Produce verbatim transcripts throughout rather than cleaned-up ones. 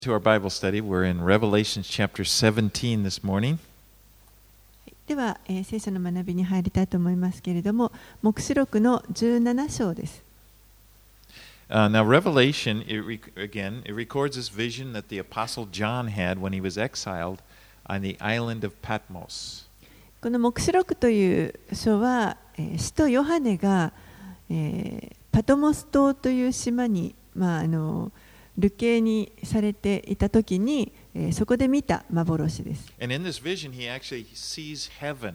To our Bible study, we're in Revelation chapter seventeen this morning. では、えー、聖書の学びに入りたいと思いますけれども、黙示録のじゅうなな章です。 Uh, now, Revelation, it rec- again, it records this vision that the Apostle John had when he was exiled on the island of Patmos. この黙示録という書は、えー、使徒ヨハネが、えー、パトモス島という島に、まああの流刑にされていたときに、えー、そこで見た幻です。 And in this vision, he actually sees heaven.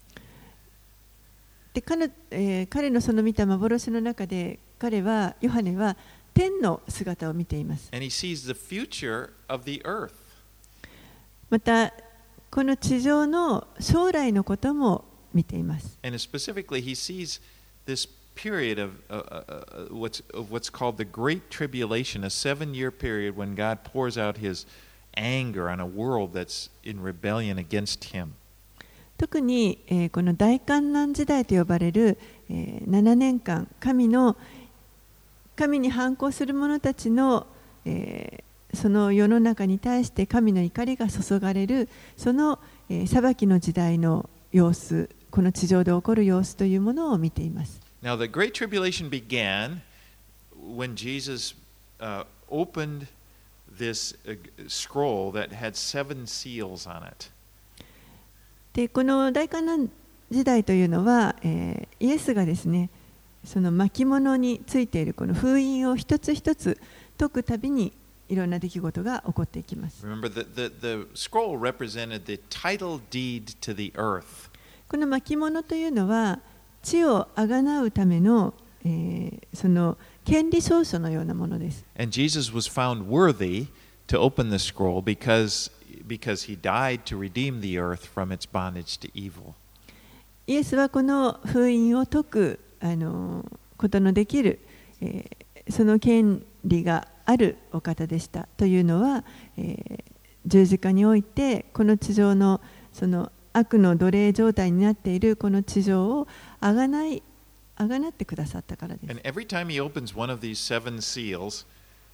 で 彼, えー、彼のその見た幻の中で、彼はヨハネは天の姿を見ています。 And he sees the future of the earth. また、この地上の将来のことも見ています。 And specifically, he sees this period of, uh, uh, what's, of what's called the Great Tribulation, a seven-year period when God pours out his anger on a world that's in rebellion against him. 特に、えー、この大観難時代と呼ばれる、えー、ななねんかん、神の神に反抗する者たちの、えー、その世の中に対して神の怒りが注がれる、その、えー、裁きの時代の様子、この地上で起こる様子というものを見ています。 Now, the Great Tribulation began when Jesus uh, opened this uh, scroll that had seven seals on it. で、この大観難時代というのは、えー、イエスがですね、その巻物についているこの封印を一つ一つ解くたびにいろんな出来事が起こっていきます。 Remember, the, the, the scroll represented the title deed to the earth. この巻物というのは、地をあがなうための、えー、その権利証書のようなものです。 And Jesus was found worthy to open the scroll because, because he died to redeem the earth from its bondage to evil. イエスはこの封印を解くあのことのできる、えー、その権利があるお方でしたというのは、えー、十字架においてこの地上のその悪の奴隷状態になっているこの地上をあがない、あがなってくださったからです。 And every time he opens one of these seven seals,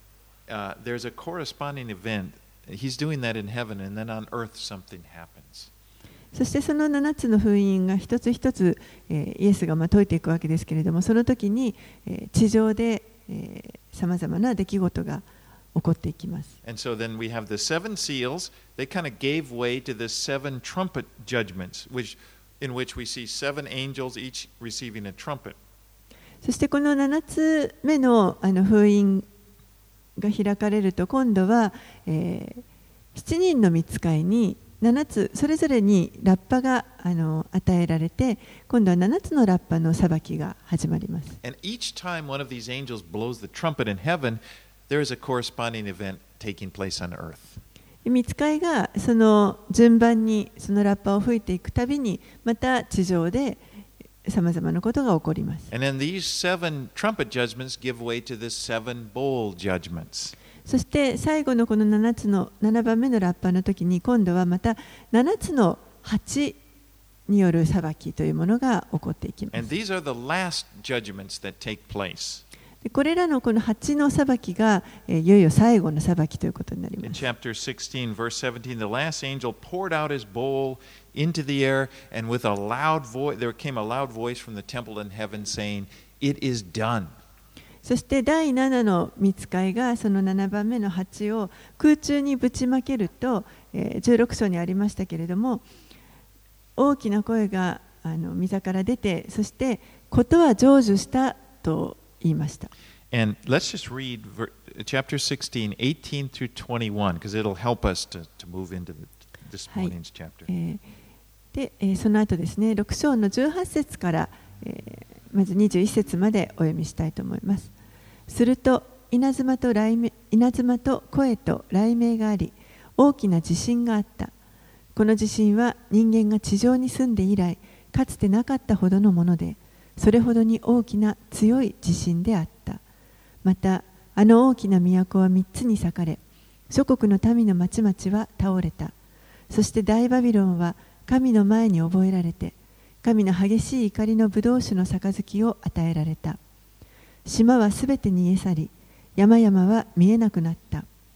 uh, there's a corresponding event. He's doing that in heaven, and then on earth something happens. そしてそのななつの封印が一つ一つ、えー、イエスがまあ解いていくわけですけれども、その時に、えー、地上でさまざまな出来事が起こっていきます。 And so then we have the seven seals. They kind of gave way to the seven trumpet judgments, which, in which we see seven angels each receiving a trumpet. そしてこのななつめの、あの封印が開かれると、今度は、えー、しちにんの御使いにななつそれぞれにラッパがあの与えられて、今度はななつのラッパの裁きが始まります。 And each time one of these angels blows the trumpet in heaven, there is a corresponding event taking place on earth. 御使いがその順番にそのラッパを吹いていくたびに、また地上でさまざまなことが起こります。 And then these seven trumpet judgments give way to the seven bowl judgments. そして最後のこのななつのななばんめのラッパの時に、今度はまたななつの鉢による裁きというものが起こっていきます。 And these are the last judgments that take place. でこれらのこの鉢の裁きが、えー、いよいよ最後の裁きということになります。 In chapter sixteen, verse seventeen, the last angel poured out his bowl into the air, and with a loud voice, there came a loud voice from the temple in heaven saying, "It is done." そして第ななの御使いがそのななばんめの鉢を空中にぶちまけると、えー、じゅうろく章にありましたけれども、大きな声があの御座から出て、そしてことは成就したと言いました。 And let's just read chapter sixteen, eighteen through twenty-one, because it'll help us to, to move into this morning's chapter. はい、えー、で、えー、その後ですね、ろく章のじゅうはち節から、えー、まずにじゅういち節までお読みしたいと思います。すると稲妻と雷鳴、稲妻と声と雷鳴があり、大きな地震があった。この地震は人間が地上に住んで以来、かつてなかったほどのもので、それほどに大きな強い地震であった。また、あの大きな都は三つに裂かれ、諸国の民の町々は倒れた。そして大バビロンは神の前に覚えられて、神の激しい怒りの葡萄酒の杯を与えられた。島はすべて逃げ去り、山々は見えなくなった。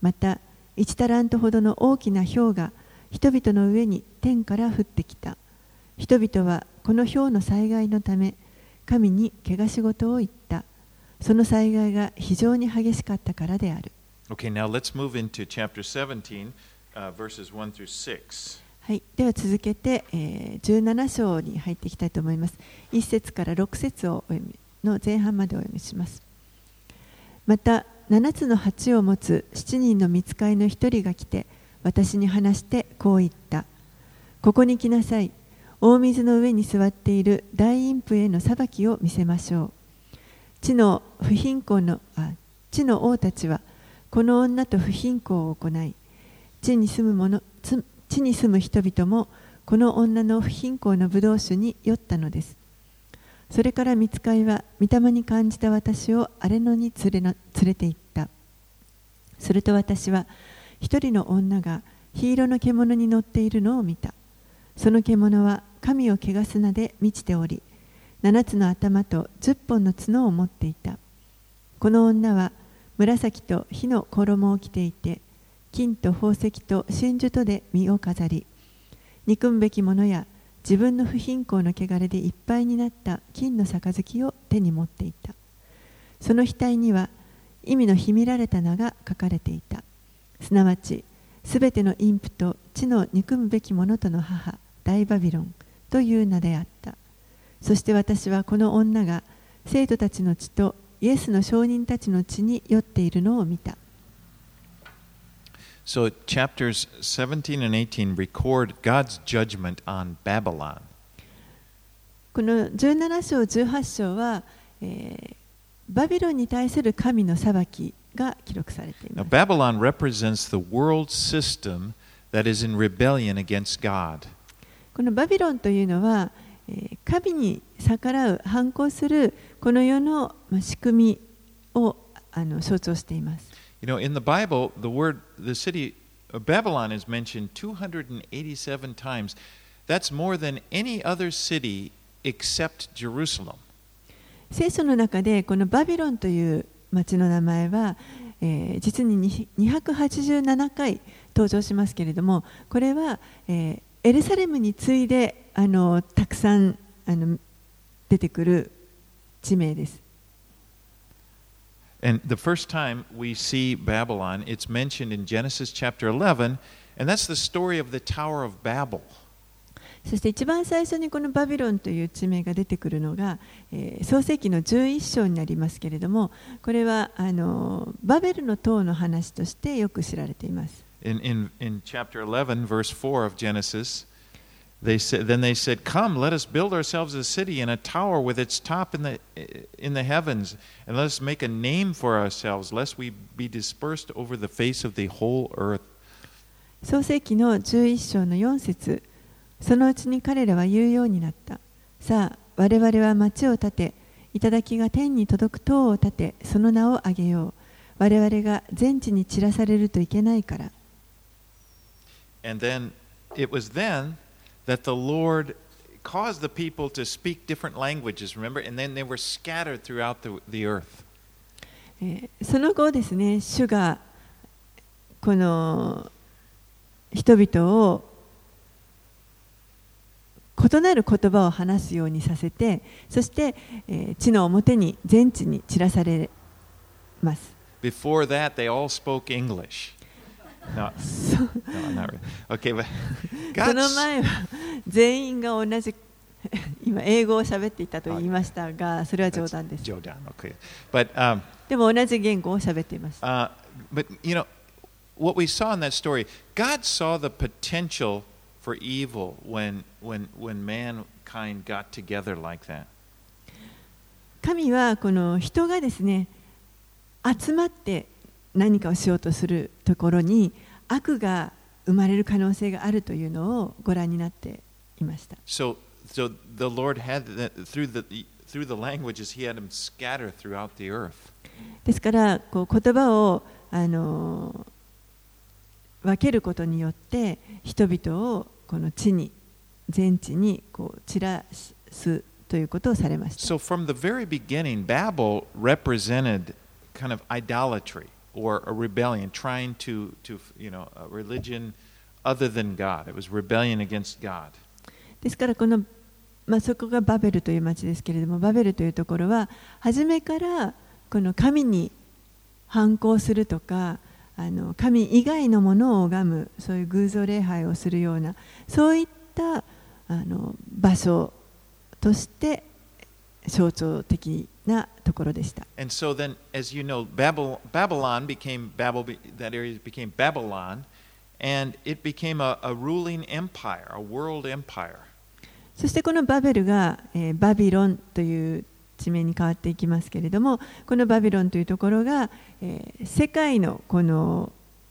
また一タラントほどの大きな雹が人々の上に天から降ってきた。人々はこの雹の災害のため神に汚し事を言った。その災害が非常に激しかったからである。 Okay, now let's move into chapter seventeen, uh, verses one through six. はい、では続けて、えー、じゅうなな章に入っていきたいと思います。いち節からろく節をお読みの前半までお読みします。またななつの鉢を持つしちにんの御使いの一人が来て私に話してこう言った。ここに来なさい。大水の上に座っている大陰婦への裁きを見せましょう。地の不貧困のあ地の王たちはこの女と不貧困を行い、地に住む者地に住む人々もこの女の不貧困の葡萄酒に酔ったのです。それから御使いは御霊に感じた私を荒れ野に連れな連れて行った。すると私は一人の女が緋色の獣に乗っているのを見た。その獣は神を汚す名で満ちており、七つの頭と十本の角を持っていた。この女は紫と火の衣を着ていて、金と宝石と真珠とで身を飾り、憎むべきものや自分の不貧困の汚れでいっぱいになった金の杯を手に持っていた。その額には意味の秘められた名が書かれていた。すなわち、すべての陰婦と地の憎むべきものとの母、大バビロンという名であった。そして私はこの女が生徒たちの血とイエスの証人たちの血に酔っているのを見た。 So chapters seventeen and eighteen record God's judgment on Babylon. このじゅうなな章、じゅうはち章は、えー、バビロンに対する神の裁きが記録されています。 Now, Babylon represents the world system that is in rebellion against God. このバビロンというのは、えー、神に逆らう、反抗するこの世の、まあ、仕組みをあの象徴しています。 You know, in the Bible, the word, the city of Babylon is mentioned two hundred eighty-seven times. That's more than any other city except Jerusalem. 聖書の中でこのバビロンという町の名前は、えー、実ににひゃくはちじゅうななかい登場しますけれども、これは、えー、エルサレムに次いであのたくさんあの出てくる地名です。 And the first time we see Babylon, it's mentioned in Genesis chapter eleven, and that's the story of the Tower of Babel. そして一番最初にこのバビロンという地名が出てくるのが、えー、創世記のじゅういっ章になりますけれども、これはあのバベルの塔の話としてよく知られています。 In, in, in chapter eleven, verse four of Genesis, they said, then they said, "Come, let us build ourselves a city and a tower with its top in the, in the heavens, and let us make a name for ourselves, lest we be dispersed over the face of the whole earth." 創世記のじゅういっ章のよん節、そのうちに彼らは言うようになった。さあ、我々は町を建て、頂が天に届く塔を建て、その名を挙げよう。我々が全地に散らされるといけないから。 And then, it was then that the Lord caused the people to speak different languages, remember? And then they were scattered throughout the, the earth. えー、その後ですね、主がこの人々を異なる言葉を話すようにさせて、そして、えー、地の表に全地に散らされます。 Before that, they all spoke English. No, no, not really. Okay, but その前は全員が同じ今英語を喋っていたと言いましたが、それは冗談です。 冗談、okay. But, um, でも同じ言語を喋っていました。 Uh, but you know, what we saw in that story, God saw the potential for evil when when when mankind got together like that. 神はこの人がですね、集まって何かをしようとするところに悪が生まれる可能性があるというのをご覧になっていました。 So, so the Lord had that through the through the languages, He had them scatter throughout the earth. ですからこう言葉をあの分けることによって人々をこの地に全地にこう散らすということをされました。 So from the very beginning, Babel represented kind of idolatry. or a rebellion, trying to, to you know, a religion other than God. It was rebellion against God. ですからこの、まあ、そこがバベルという町ですけれども、バベルというところは初めからこの神に反抗するとか、あの神以外のものを拝む、そういう偶像礼拝をするような、そういったあの場所として象徴的なところでした。 And so then, as you know, Babylon, Babylon became Babel. That area became Babylon, and it became a, a ruling empire, a world empire. そしてこのバベルが、えー、バビロンという地名に変わっていきますけれども、このバビロンというところが、えー、世界のこの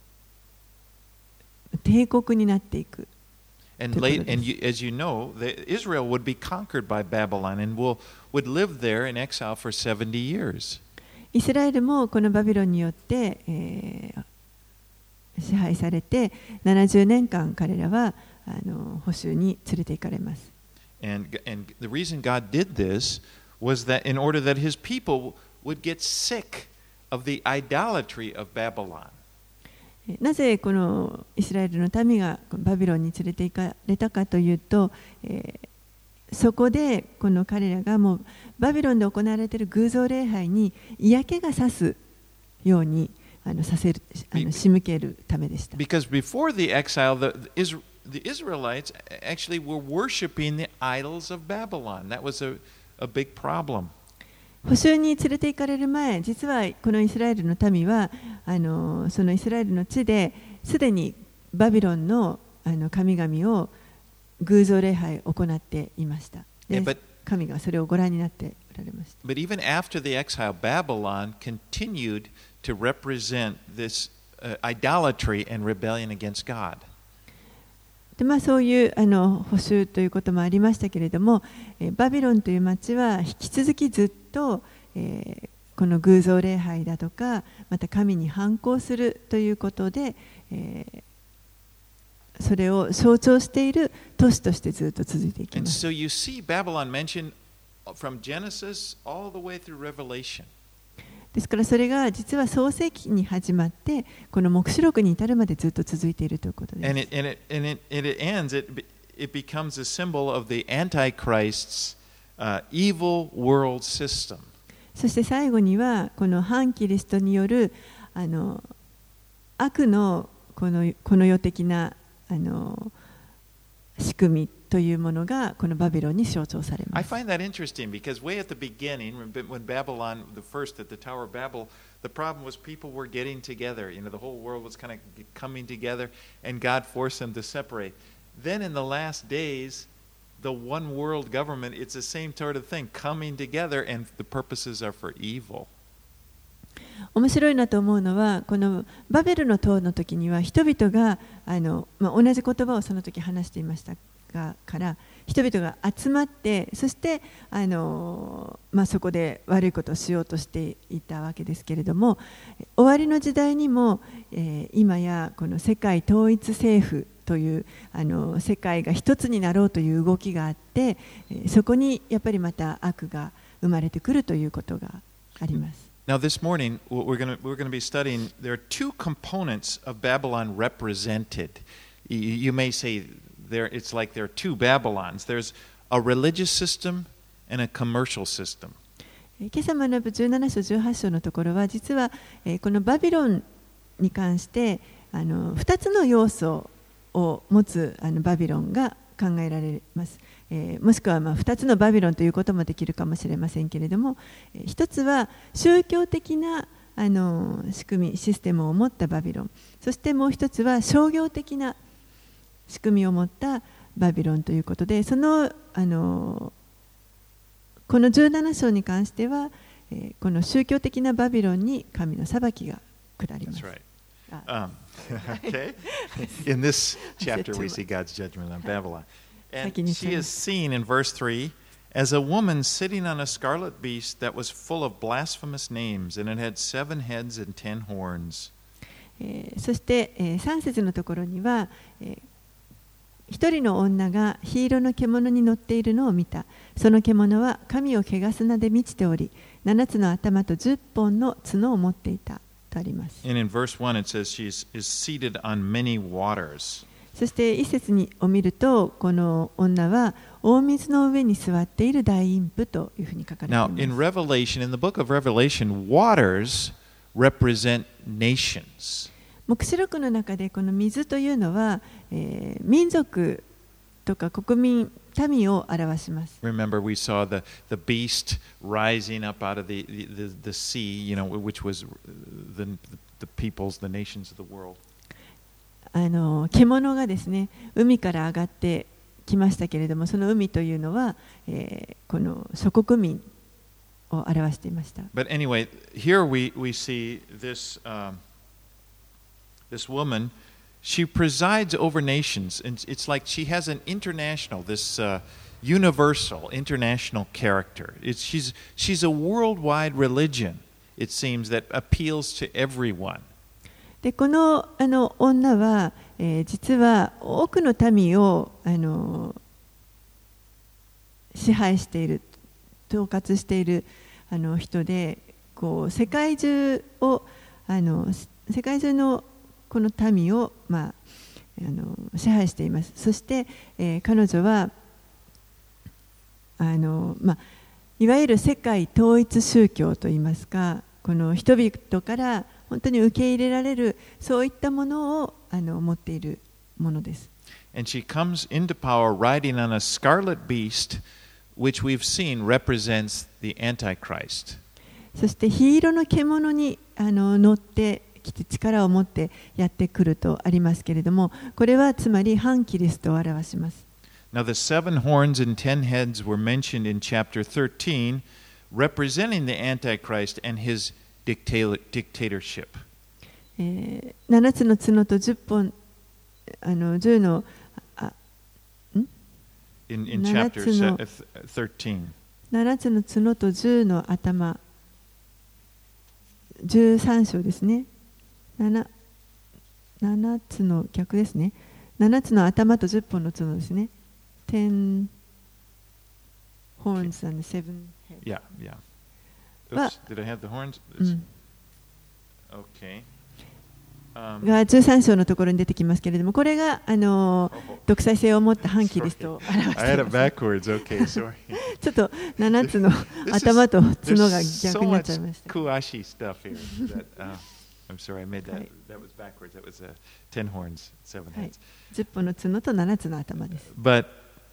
帝国になっていく。 And, late, and you, as you know, the, Israel would be conquered by Babylon and will, would live there in exile for seventy years. イスラエルもこのバビロンによって、えー、支配されてななじゅうねんかん彼らはあの捕囚に連れて行かれます。 And, and the reason God did this was that in order that his people would get sick of the idolatry of Babylon. なぜこのイスラエルの民がバビロンに連れて行かれたかというと、えー、そこでこの彼らがもうバビロンで行われている偶像礼拝に嫌気がさすようにあのさせる、あの仕向けるためでした。 Because before the exile, the, the, the Israelites actually were worshiping the idols of Babylon. That was a, a big problem. 捕囚に連れて行かれる前、実はこのイスラエルの民はあのそのイスラエルの地ですでにバビロンのあの神々を偶像礼拝を行っていました。で、yeah, but, 神がそれをご覧になっておられました。 But even after the exile, Babylon continued to represent this、uh, idolatry and rebellion against God. でまあ、そういうあの捕囚ということもありましたけれども、えバビロンという町は引き続きずっと、えー、この偶像礼拝だとかまた神に反抗するということで、えー、それを象徴している都市としてずっと続いていきます。 And so you see Babylon mentioned from Genesis all the way through Revelation. ですからそれが実は創世記に始まってこの黙示録に至るまでずっと続いているということです。 And it, and it, and it, and it ends, it, it becomes a symbol of the Antichrist's uh, evil world system. そして最後にはこの反キリストによるあの悪のこのこの世的なあの仕組みというものがこのバビロンに象徴されます。 I find that interesting because way at the beginning, when Babylon, the first at the Tower of Babel, the problem was people were getting together. You know, the whole world was kind of coming together, and God forced them to separate. Then in the last days, the one world government, it's the same sort of thing, coming together, and the purposes are for evil. 面白いなと思うのはこのバベルの塔の時には人々があの、まあ、同じ言葉をその時話していましたがから人々が集まってそしてあの、まあ、そこで悪いことをしようとしていたわけですけれども終わりの時代にも、えー、今やこの世界統一政府というあの世界が一つになろうという動きがあってそこにやっぱりまた悪が生まれてくるということがあります。 Now, this morning, we're going to, we're going to be studying, there are two components of Babylon represented. You, you may say there, it's like there are two Babylons. There's a religious system and a commercial system. 今朝学ぶじゅうなな章じゅうはち章のところは実はこのバビロンに関してあのふたつの要素を持つあのバビロンが考えられます。えー、もしくはまあふたつのバビロンということもできるかもしれませんけれども、えー、ひとつは宗教的なあの仕組みシステムを持ったバビロン、そしてもう一つは商業的な仕組みを持ったバビロンということで、そのあのこのじゅうなな章に関しては、えー、この宗教的なバビロンに神の裁きが下ります。 That's right. Um, okay. In this chapter, we see God's judgment on Babylon. And she is seen in verse three as a woman sitting on a scarlet beast that was full of blasphemous names, and it had seven heads and ten horns. そして、えー、さん節のところには、えー、一人の女が火色の獣に乗っているのを見た。その獣は神を汚す名で満ちており、七つの頭と十本の角を持っていた。 とあります。 And in verse one it says she is seated on many waters. そして一節にを見ると、この女は大水の上に座っている大陰婦というふうに書かれてい Now, ます。 in Revelation, in the book of Revelation, waters represent nations. 黙示録の中でこの水というのは、えー、民族とか国民、民を表します。 Remember, we saw the, the beast rising up out of the, the, the sea, you know, which was the, the peoples, the nations of the world. あの獣がですね、海から上がってきましたけれども、その海というのは、えー、この諸国民を表していました。 But anyway, here we, we see this, um, this woman, she presides over nations, and it's like she has an international, this uh, universal, international character. It's, she's, she's a worldwide religion, it seems, that appeals to everyone. でこの、あの女は、えー、実は多くの民をあの支配している、統括しているあの人で、こう世界中をあの世界中のこの民を、まあ、あの支配しています。そして、えー、彼女はあの、まあ、いわゆる世界統一宗教といいますか、この人々から本当に受け入れられる、そういったものをあの持っているものです。 And she comes into power riding on a scarlet beast, which we've seen represents the Antichrist. そして黄色の獣にあの乗ってきて力を持ってやってくるとありますけれども、これはつまり反キリストを表します。 Now the seven horns and ten heads were mentioned in chapter thirteen, representing the Antichrist and his dictatorship. えー、ななつの角とじゅっぽん、あのじゅうのあん in, in chapter thirteen. ななつの角とじゅうの頭、じゅうさん章ですね。なな, ななつの逆ですね。ななつの頭とじゅっぽんの角ですね。ten horns and seven heads. Yeah, yeah. Oops, did I have the horns? うん Okay. Um, がじゅうさん章のところに出てきますけれども、これがあの独裁性を持った反キリストを表しています。 I had it backwards. Okay, sorry. ちょっとななつの頭と角が逆になっちゃいました。 Kuashi stuff here. That, uh, I'm sorry, I made that. That was backwards. That was uh, ten horns, seven heads. じゅっぽんの角とななつの頭です。 But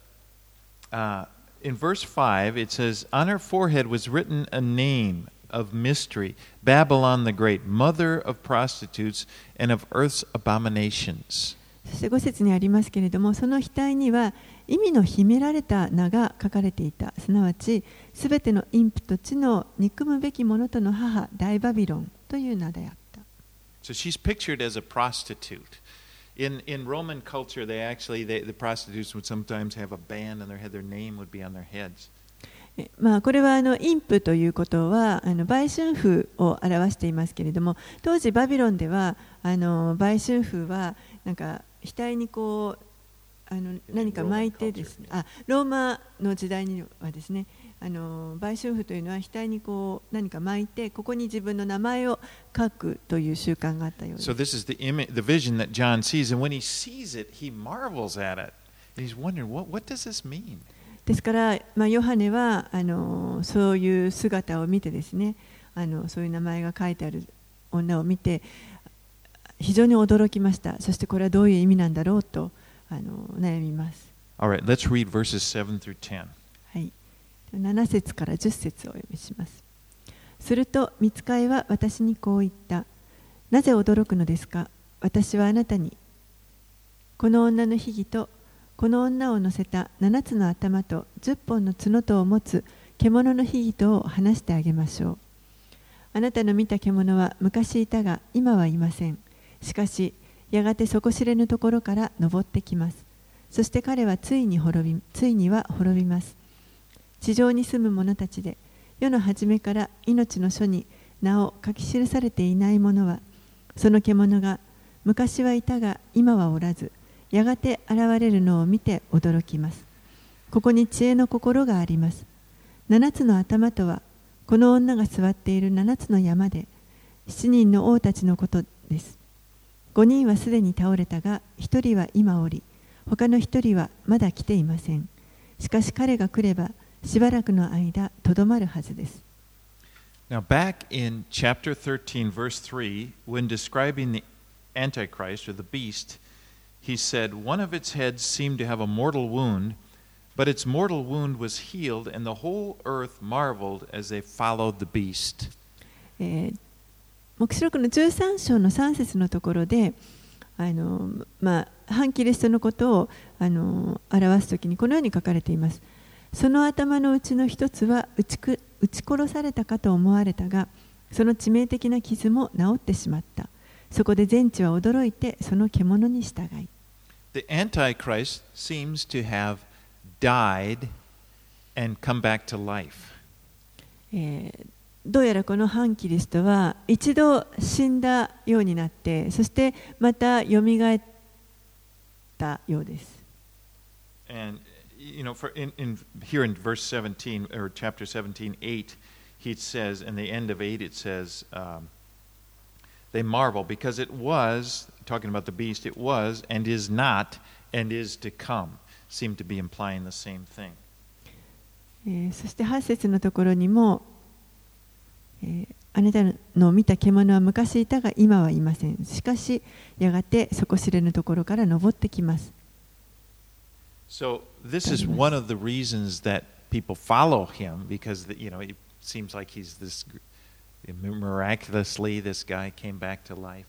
uh, in verse five, it says, "On her forehead was written a name of mystery, Babylon the Great, mother of prostitutes and of earth's abominations." そしてご節にありますけれども、その額には意味の秘められた名が書かれていた。すなわち、すべての陰婦と地の憎むべき者との母、大バビロンという名であった。 So she's pictured as a prostitute. In, in Roman culture, they actually, they, the prostitutes would sometimes have a band on their head, their name would be on their heads. まあこれはあの陰婦ということはあの売春婦を表していますけれども、当時バビロンではあの売春婦はなんか額にこうあの何か巻いてですね、あローマの時代にはですね、あの売春婦というのは額にこう何か巻いて、ここに自分の名前を書くという習慣があったようです。 So this is the image, the vision that John sees, and when he sees it, he marvels at it. And he's wondering, what, what does this mean? ですから、まあ、ヨハネはあのそういう姿を見てですね、あのそういう名前が書いてある女を見て非常に驚きました。そしてこれはどういう意味なんだろうとあの悩みます。 All right, let's read verses seven through ten. はい、なな節からじゅっ節をお読みします。すると御使いは私にこう言った。なぜ驚くのですか。私はあなたにこの女の秘儀とこの女を乗せた七つの頭と十本の角とを持つ獣の秘儀とを話してあげましょう。あなたの見た獣は昔いたが今はいません。しかしやがて底知れぬところから登ってきます。そして彼はついに滅び、ついには滅びます。地上に住む者たちで世の初めから命の書に名を書き記されていない者は、その獣が昔はいたが今はおらず、やがて現れるのを見て驚きます。ここに知恵の心があります。七つの頭とは、この女が座っている七つの山で、 七人の王たちのことです。五人はすでに倒れたが、一人は今おり、他の一人はまだ来ていません。しかし彼が来れば、しばらくの間、とどまるはずです。 Now, back in chapter thirteen, verse three, when describing the Antichrist or the beast, he said, One of its heads seemed to have a mortal wound, but its mortal wound was healed, and the whole earth marveled as they followed the beast. えー、黙示録のじゅうさん章のさん節のところで、あのまあ、反キリストのことをあの表すときにこのように書かれています。その頭のうちの一つは打ちく撃ち殺されたかと思われたが、その致命的な傷も治ってしまった。そこで全地は驚いてその獣に従い。 The Antichrist seems to have died and come back to life. えー、どうやらこの反キリストは一度死んだようになって、そしてまたよみがえったようです。 And you know, for in, in here in verse seventeen or chapter seventeen, eight, he says, in the end of eight, it says, um, they marvel because it was, talking about the beast, it was and is not and is to come, seem to be implying the same thing. えー、そしてはち節のところにも、えー、あなたの見た獣は昔いたが今はいません。しかしやがて底知れぬところから登ってきます。 So this is one of the reasons that people follow him, because the, you know it seems like he's this miraculously this guy came back to life.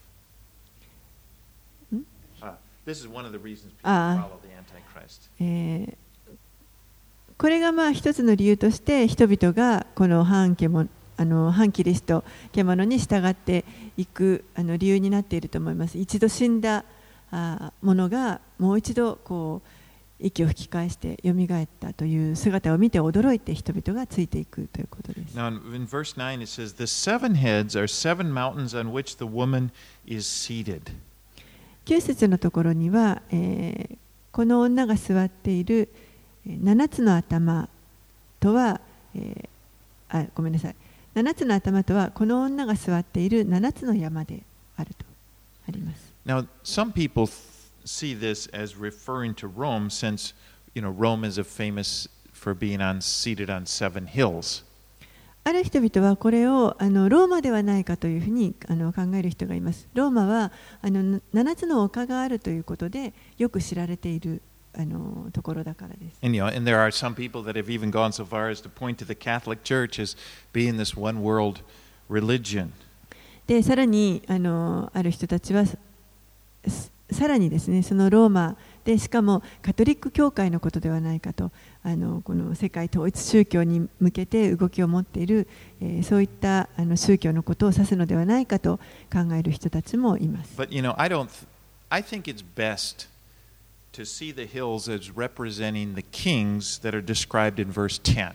Hmm? Uh, this is one of the reasons people follow the Antichrist. えー、これがまあ一つの理由として人々がこの反獣あの反キリスト獣に従っていくあの理由になっていると思います。一度死んだあものがもう一度こう息を吹き返してよみがえったという姿を見て驚いて人々がついていくということです。 Now in verse nine it says, The seven heads are seven mountains on which the woman is seated. きゅう節のところには、えー、この女が座っている七つの頭とは、えー、あ、ごめんなさい。七つの頭とはこの女が座っている七つの山であるとあります。 Now some people see this as referring to Rome, since you know Rome is a famous for being on seated on seven hills. ある人々はこれをあのローマではないかというふうにあの考える人がいます。ローマはあの七つの丘があるということでよく知られているあのところだからです。 And, you know, and there are some people that have even gone so far as to point to the Catholic Church as being this one world religion. で、さらにあのある人たちはさらにですね、そのローマでしかもカトリック教会のことではないかと、あのこの世界統一宗教に向けて動きを持っている、えー、そういったあの宗教のことを指すのではないかと考える人たちもいます。 But you know, I don't. I think it's best to see the hills as representing the kings that are described in verse ten.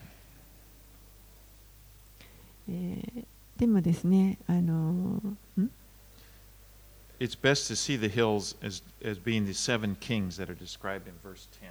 えー、でもですね、あのん It's best to see the hills as, as being the seven kings that are described in verse ten.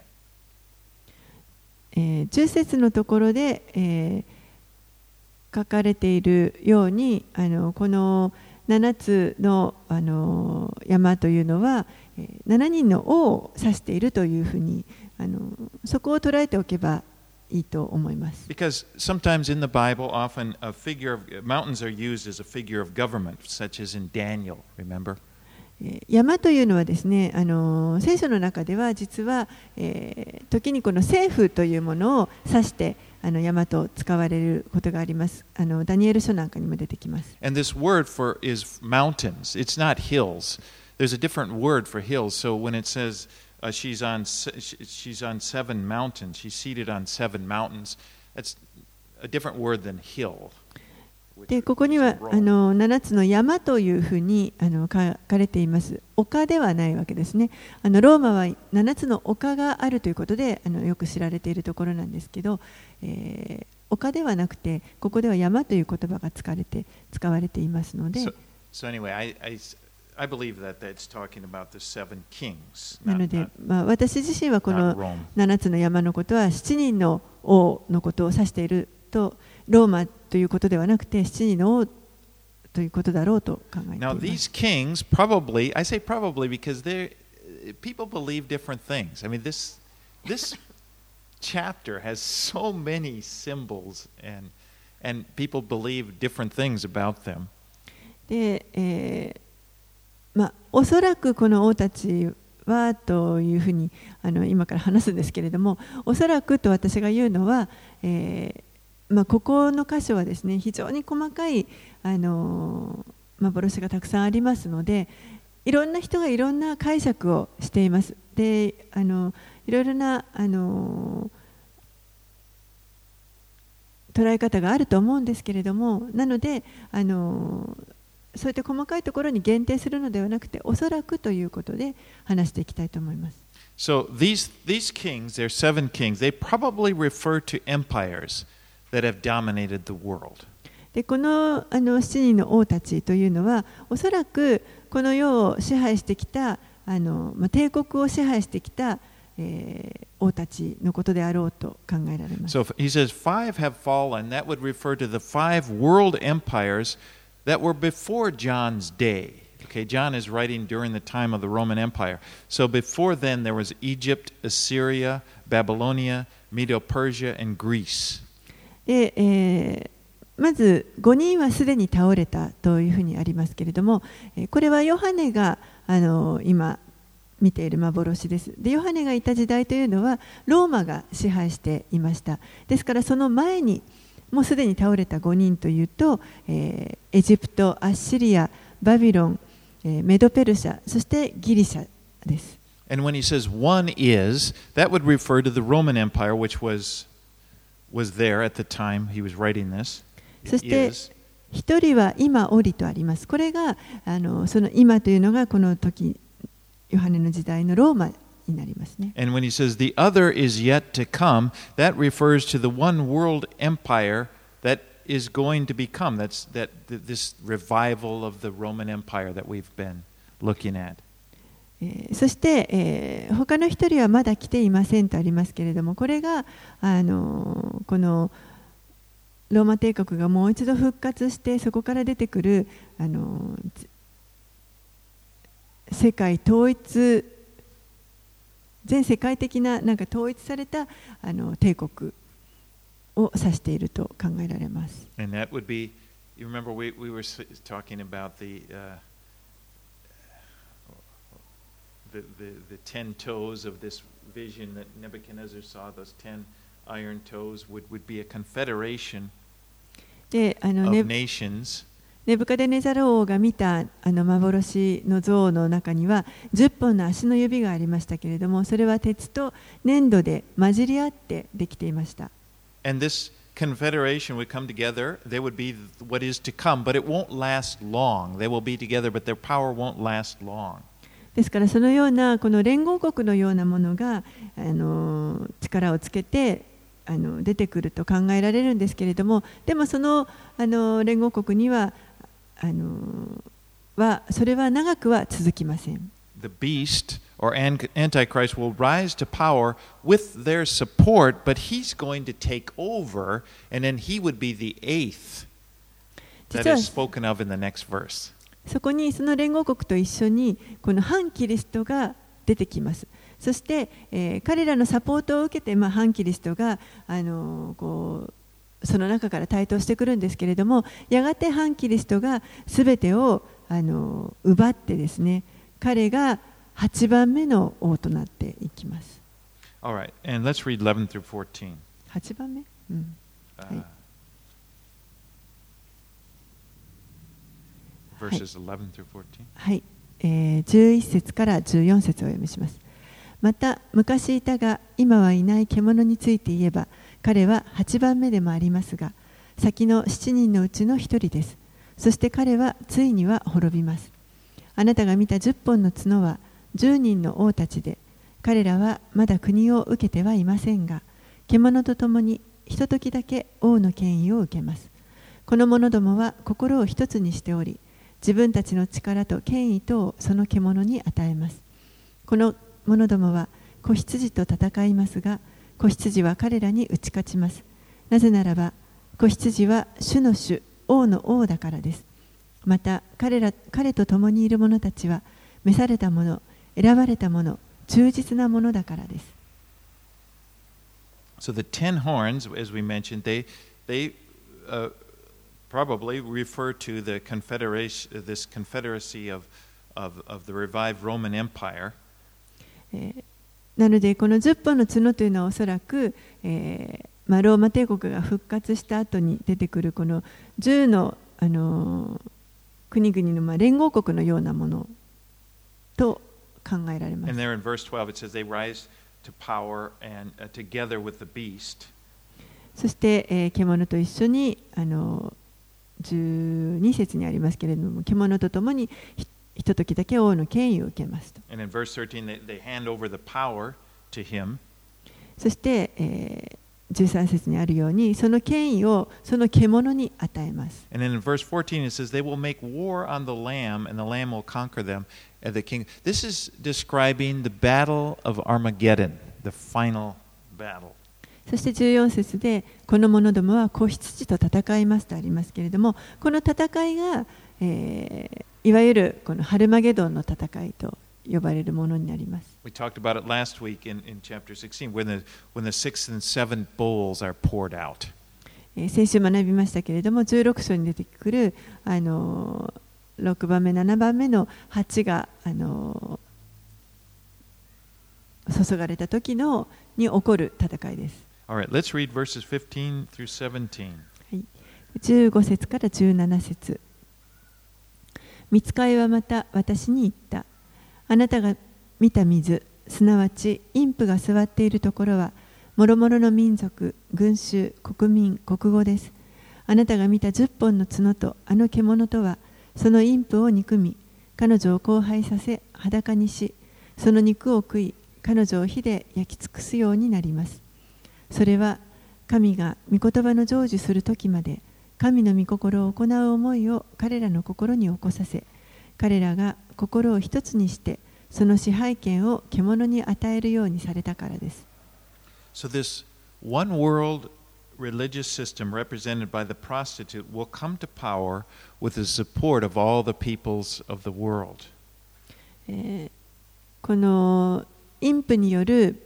えー、じゅう節のところで、えー、書かれているように、あのこのななつの、あの山というのは、えー、ななにんの王を指しているというふうに、あのそこを捉えておけばいいと思います。 Because sometimes in the Bible, often a figure of mountains are used as a figure of government, such as in Daniel. Remember? 山というのはですね、あの聖書の中では実は、えー、時にこの政府というものを指してあの山と使われることがあります。あのダニエル書なんかにも出てきます。 And this word for is mountains. It's not hills. There's a different word for hills. So when it says uh, she's on she's on seven mountains, she's seated on seven mountains, that's a different word than hill. でここにはあのななつの山というふうにあの書かれています。丘ではないわけですね。あのローマはななつの丘があるということであのよく知られているところなんですけど、えー、丘ではなくてここでは山という言葉が使われて使われていますので。 So, so anyway, I, I, I believe that that's talking about the seven kings. なので、まあ、私自身はこのななつの山のことはしちにんの王のことを指していると。ローマということではなくて、七人の王ということだろうと考えていま Now, す。 these kings probably, I say probably because they people believe different things. I mean, this this chapter has so many symbols, and and people believe different things about them. で、えーまあ、おそらくこの王たちはというふうにあの今から話すんですけれども、おそらくと私が言うのは、えーまあ、ここの箇所はですね、非常に細かいあの幻がたくさんありますので、いろんな人がいろんな解釈をしています。で、あのいろいろなあの捉え方があると思うんですけれども、なのであのそういった細かいところに限定するのではなくて、おそらくということで話していきたいと思います。 So these these kings, there are seven kings. They probably refer to empires that have dominated the world. でこのあのしちにんの王たちというのは、おそらくこの世を支配してきたあの、まあ、帝国を支配してきた、えー、王たちのことであろうと考えられます。 So he says five have fallen. That would refer to the five world empires that were before John's day. Okay, John is writing during the time of the Roman Empire. So before then there was Egypt, Assyria, Babylonia, Medo-Persia, and Greece. で、えーまずごにんはすでに倒れたというふうにありますけれども、これはヨハネがあの今見ている幻です。で、ヨハネがいた時代というのはローマが支配していました。ですからその前にもうすでに倒れたごにんというと、えー、エジプト、アッシリア、バビロン、えー、メドペルシャ、そしてギリシャです。 And when he says one is, that would refer to the Roman Empire, which was was there at the time he was writing this. そして一人は今おりとあります。これがあのその今というのがこの時ヨハネの時代のローマになりますね。 And when he says the other is yet to come, that refers to the one world empire that is going to become. That's that this revival of the Roman Empire that we've been looking at. えー、そして、えー、他の一人はまだ来ていませんとありますけれども、これがあのこのローマ帝国がもう一度復活してそこから出てくるあの世界統一全世界的ななんか統一されたあの帝国を指していると考えられます。 And that would be, you remember we we were talking about the uh, the the the ten toes of this vision that Nebuchadnezzar saw. Those ten iron toes would would be a confederation で、あの of ネ nations. ネブカデネザル王が見たあの幻の像の中にはじゅっぽんの足の指がありましたけれども、それは鉄と粘土で混じり合ってできていました。 And this confederation would come together. They would be what is to come, but it won't last long. They will be together, but their power won't last long. ですからそのようなこの連合国のようなものがあの力をつけてあの出てくると考えられるんですけれども、でもそのあの連合国にはあのはそれは長くは続きません。 The beast or Antichrist will rise to power with their support, but he's going to take over, and then he would be the eighth that is spoken of in the next verse. そこにその連合国と一緒にこの反キリストが出てきます。そして、えー、彼らのサポートを受けて、まあ、反キリストがあのこうその中から台頭してくるんですけれども、やがて反キリストがすべてをあの奪ってですね、彼がはちばんめの王となっていきます。 All right, and let's read eleven through fourteen. はちばんめ、うん、はい。 Verses eleven through fourteen. はい、えー、じゅういっ節からじゅうよん節をお読みします。また昔いたが今はいない獣について言えば、彼ははちばんめでもありますが、先のしちにんのうちのひとりです。そして彼はついには滅びます。あなたが見たじゅっぽんの角はじゅうにんの王たちで、彼らはまだ国を受けてはいませんが、獣と共にひとときだけ王の権威を受けます。この者どもは心を一つにしており、自分たちの力と権威とをその獣に与えます。この者どもは子羊と戦いますが、子羊は彼らに打ち勝ちます。なぜならば子羊は主の主、王の王だからです。 また 彼ら、彼と共にいる者たちは召された者、選ばれた者、忠実な者だからです。 So the ten horns, as we mentioned, they, they uh, probably refer to the confederation, this confederacy of, of, of the revived Roman Empire. なのでこのじゅっぽんの角というのはおそらく、えーまあ、ローマ帝国が復活した後に出てくるこのじゅうの、あのー、国々のまあ連合国のようなものと考えられます。 And there in verse twelve it says they rise to power and uh, together with the beast. そして、えー、獣と一緒にあのじゅうに節にありますけれども、獣とともにひとときだけ王の権威を受けますと。 And in verse thirteen they, they hand over the power to him. そして、えー、じゅうさん節にあるようにその権威をその獣に与えます。 And then in verse fourteen it says they will make war on the lamb and the lamb will conquer them and the king. This is describing the battle of Armageddon, the final battle. そしてじゅうよん節でこの者どもは子羊と戦いますとありますけれども、この戦いが、えーいわゆるこのハルマゲドンの戦いと呼ばれるものになります。 We talked about it last week in, in chapter sixteen, when the, when the sixth and seventh bowls are poured out. 先週学びましたけれども、じゅうろく章に出てくるあのろくばんめ、ななばんめの鉢があの注がれた時のに起こる戦いです。 All right, let's read verses fifteen through seventeen. はい、じゅうご節からじゅうなな節。御使いはまた私に言った。あなたが見た水、すなわち陰婦が座っているところは、もろもろの民族、群衆、国民、国語です。あなたが見た十本の角とあの獣とは、その陰婦を憎み、彼女を荒廃させ、裸にし、その肉を食い、彼女を火で焼き尽くすようになります。それは、神が御言葉の成就するときまで、神の御心を行う思いを彼らの心に起こさせ、彼らが心を一つにして、その支配権を獣に与えるようにされたからです。 So this one world religious system represented by the prostitute will come to power with the support of all the peoples of the world. えー、この陰婦による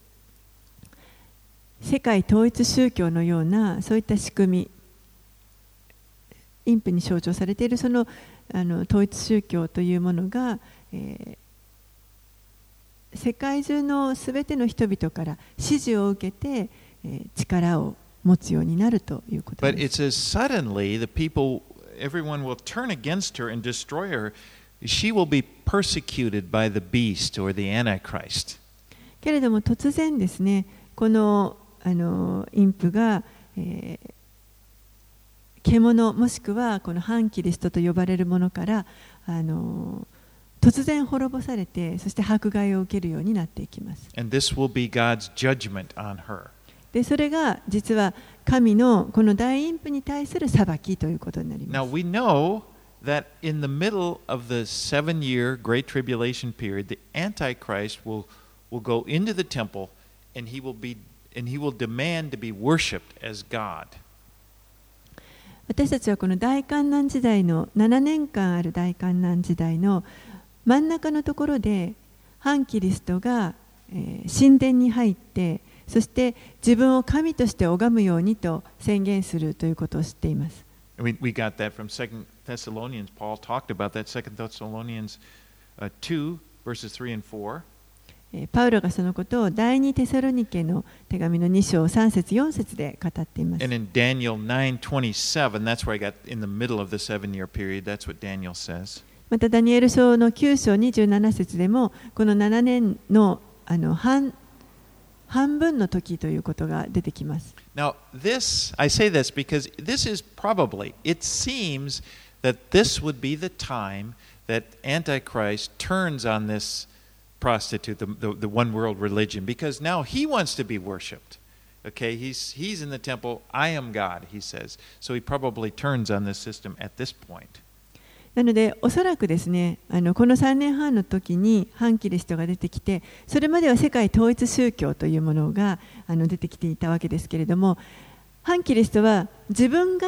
世界統一宗教のようなそういった仕組み、陰婦に象徴されているその、あの統一宗教というものが、えー、世界中のすべての人々から支持を受けて、えー、力を持つようになるということです。 But it says suddenly the people, everyone will turn against her and destroy her. She will be persecuted by the beast or the Antichrist. けれども突然ですね、このあの陰婦が、えー獣もしくはこの反キリストと呼ばれるものからあの突然滅ぼされて、そして迫害を受けるようになっていきます。 And this will be God's judgment on her. で、それが実は神のこの大陰婦に対する裁きということになります。 Now we know that in the middle of the seven-year Great Tribulation period, the Antichrist will will go into the temple and he will be and he will demand to be worshipped as God. 私たちはこの大観難時代のななねんかんある大観難時代の真ん中のところで反キリストが、えー、神殿に入って、そして自分を神として拝むようにと宣言するということを知っています。 We, we got that from Second Thessalonians. Paul talked about that. Second Thessalonians uh, two verses three and four. パウロがそのことを第二テサロニケの手紙のに章さん節よん節で語っています。 And in Daniel nine twenty-seven, that's where I got in the middle of the seven-year period. That's what Daniel says. またダニエル書のきゅう章にじゅうなな節でもこのななねんのあの半半分の時ということが出てきます。 Now, this, I say this because this is probably, it seems that this would be the time that Antichrist turns on this prostitute, the, the, the one world religion, because now he wants to be worshipped. Okay, he's, he's in the temple, I am God, he says. So he probably turns on this system at this point. なのでおそらくですね、あのこのさんねんはんの時に反キリストが出てきて、それまでは世界統一宗教というものがあの出てきていたわけですけれども、反キリストは自分が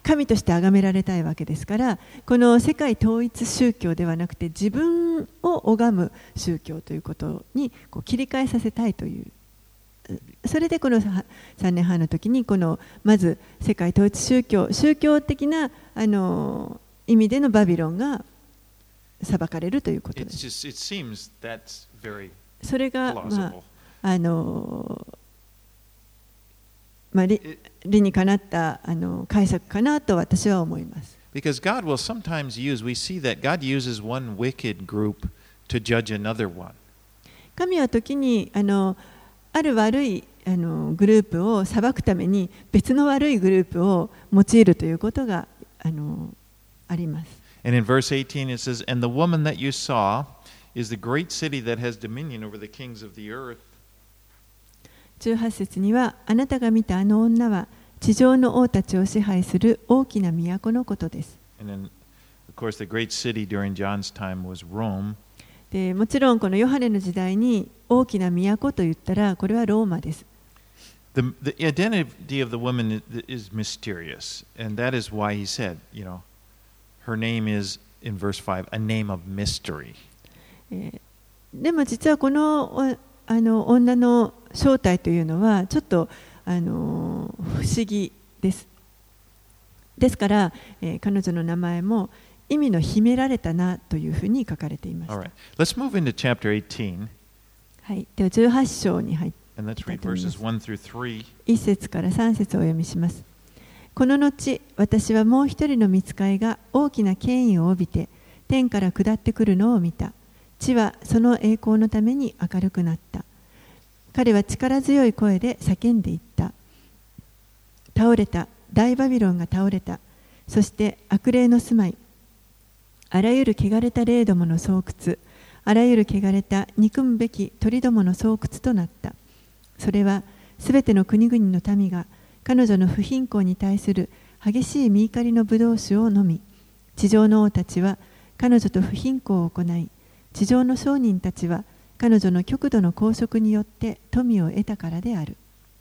神として崇められたいわけですから、この世界統一宗教ではなくて自分を拝む宗教ということにこう切り替えさせたいという、それでこのさんねんはんの時にこのまず世界統一宗教宗教的なあの意味でのバビロンが裁かれるということです。 Just, it seems that's very それが、まあ、 plausible. あのまあ、理, 理にかなったあの解釈かなと私は思います。 Because God will sometimes use, we see that God uses one wicked group to judge another one. 神は時にあのある悪いあのグループを裁くために別の悪いグループを用いるということがあのあります。 And in verse eighteen it says, And the woman that you saw is the great city that has dominion over the kings of the earth. じゅうはち節には、あなたが見たあの女は地上の王たちを支配する大きな都のことです。 And then, of course, the great city during John's time was Rome. でもちろんこのヨハネの時代に大きな都と言ったらこれはローマです。 The, the identity of the woman is mysterious, and that is why he said, you know, her name is, in verse five, a name of mystery. でも実はこの、あの女の正体というのはちょっとあの不思議です。ですから、えー、彼女の名前も意味の秘められたなというふうに書かれていました。 All right. Let's move into chapter eighteen. はい、ではじゅうはち章に入って And let's read verses one through three. いち節からさん節をお読みします。この後、私はもう一人の御使いが大きな権威を帯びて天から下ってくるのを見た。地はその栄光のために明るくなった。彼は力強い声で叫んでいった。倒れた、大バビロンが倒れた。そして悪霊の住まい、あらゆる汚れた霊どもの巣窟、あらゆる汚れた憎むべき鳥どもの巣窟となった。それはすべての国々の民が彼女の不貧困に対する激しい見怒りの葡萄酒を飲み、地上の王たちは彼女と不貧困を行い、地上の商人たちは彼女の極度の公職によって富を得たからである。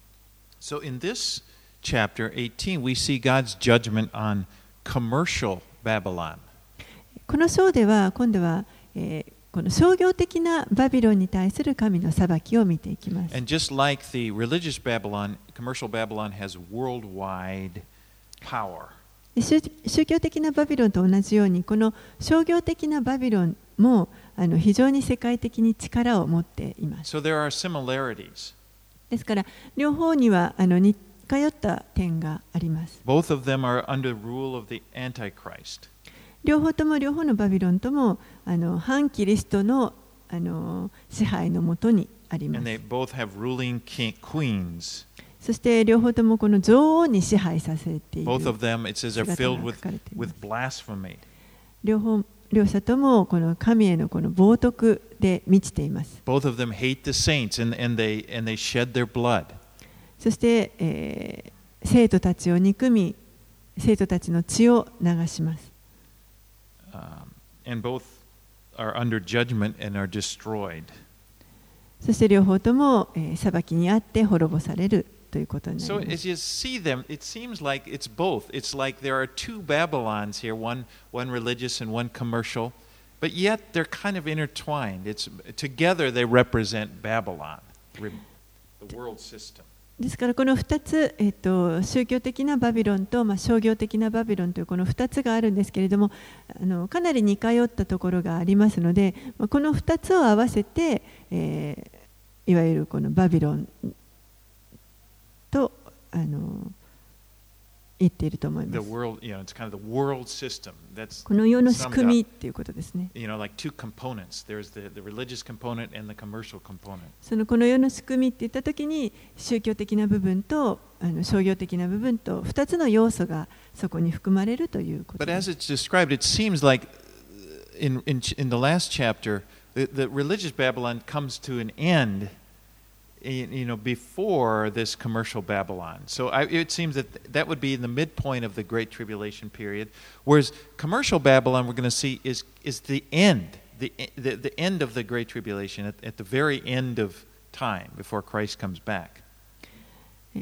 So in this chapter eighteen, we see God's judgment on commercial Babylon. この章では今度は、えー、この商業的なバビロンに対する神の裁きを見ていきます。 And just like the religious Babylon, commercial Babylon has worldwide power. 宗宗教的なバビロンと同じように、この商業的なバビロンもあの非常に世界的に力を持っています。 So there are similarities. ですから両方にはあの似通った点があります。 Both of them are under rule of the Antichrist. 両方とも両方のバビロンともあの反キリストのあの支配のもとにあります。 And they both have ruling king, queens. そして両方ともこの女王に支配させている。 Both of them, it says, are filled with, with blasphemy. 両方両者ともこの神へのこの冒涜で満ちています。 Both of them hate the saints and, and, they, and they shed their blood. そして、えー、生徒たちを憎み、生徒たちの血を流します。 Um, and both are under judgment and are destroyed. そして両方とも、えー、裁きにあって滅ぼされるということになり So ます。 as you see them, it seems like it's both. It's like there are two Babylons here, one, one religious and one commercial, but yet they're kind of intertwined. It's, together they represent Babylon, the world system. ですからこのふたつ、えー、と宗教的なバビロンと、まあ、商業的なバビロンというこのふたつがあるんですけれども、あのかなり似通ったところがありますので、まあ、このふたつを合わせて、えー、いわゆるこのバビロンとあの言っていると思います。 The world, you know, it's kind of the world system. That's この世の仕組みっていうことですね。 You know, like two components. There's the, the religious component and the commercial component. そのこの世の仕組みって言ったときに宗教的な部分とあの商業的な部分とふたつの要素がそこに含まれるということ But で as す。 it's described, it seems like in, in, in the last chapter, the, the religious Babylon comes to an end, you know, before this commercial Babylon. So I, it seems that that would be in the midpoint of the Great Tribulation period, whereas commercial Babylon we're going to see is, is the end, the, the, the end of the Great Tribulation, at, at the very end of time before Christ comes back.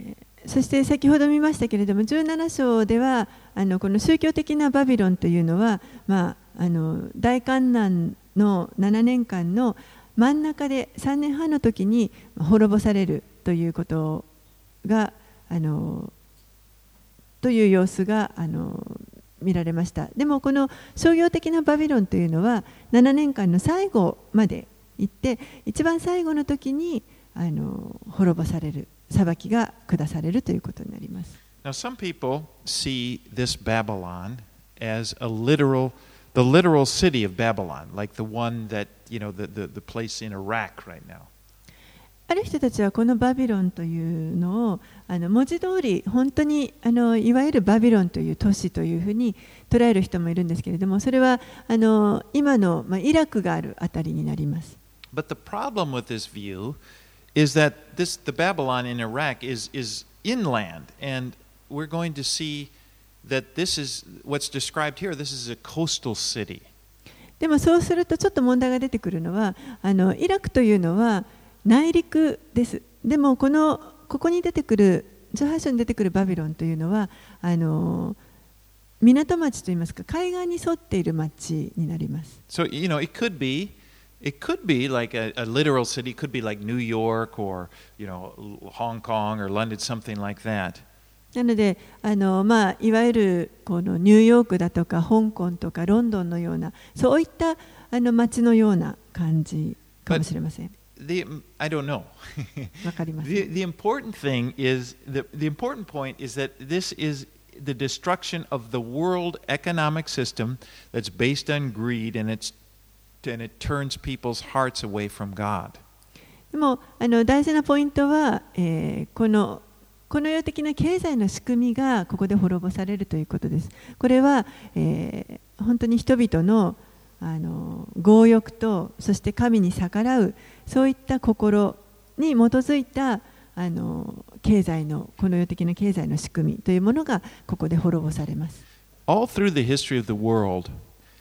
そして先ほど見ましたけれども、じゅうなな章ではあのこの宗教的なバビロンというのは、まあ、あの大観難のななねんかんの真ん中でさんねんはんの時に滅ぼされるということがあのという様子があの見られました。でもこの商業的なバビロンというのはななねんかんの最後まで行って、一番最後の時にあの滅ぼされる、裁きが下されるということになります。 Now, some people see this Babylon as a literal, the literal city of Babylon, like the one that, you know, the, the, the place in Iraq right now. ある人たちはこのバビロンというのをあの文字通り本当にあのいわゆるバビロンという都市というふうに捉える人もいるんですけれども、それはあの今の、まあ、イラクがあるあたりになります。 But the problem with this view is that this, the Babylon in Iraq is, is inland, and we're going to see that this is what's described here. This is a coastal city. でもそうするとちょっと問題が出てくるのは、あのイラクというのは内陸です。でもこのここに出てくるじゅうはち章に出てくるバビロンというのはあの港町といいますか、海岸に沿っている町になります。 So, you know, it could be It could be like a, a literal city. It could be like New York or, you know, Hong Kong or London, something like that. なので、あのまあ、いわゆるこのニューヨークだとか香港とかロンドンのようなそういったあの街のような感じかもしれません。 The, I don't know. わかりません。 the, the important thing is the, the important point is that this is the destruction of the world economic system that's based on greed, and it's and it turns people's hearts away from God. でもあの大事なポイントは、えー、このこの世的な経済の仕組みがここで滅ぼされるということです。これは、えー、本当に人々のあの強欲とそして神に逆らうそういった心に基づいたあの経済のこの世的な経済の仕組みというものがここで滅ぼされます。 All through the history of the world,